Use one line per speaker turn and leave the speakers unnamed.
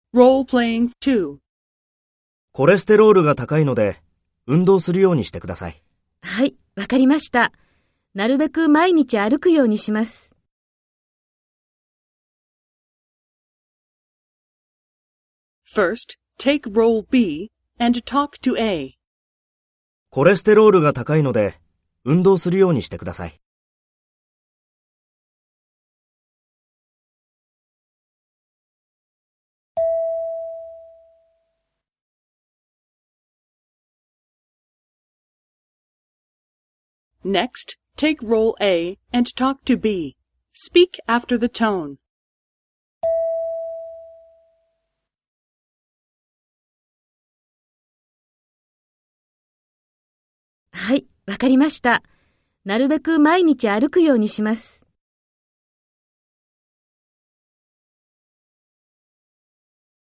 Role-playing 2.
コレステロールが高いので、運動するようにしてください。
はい、わかりました。なるべく毎日歩くようにします。
First, take role B and talk to A.
コレステロールが高いので、運動するようにしてください。
Next, take role A and talk to B. Speak after the tone.
はい、わかりました。なるべく毎日歩くようにします。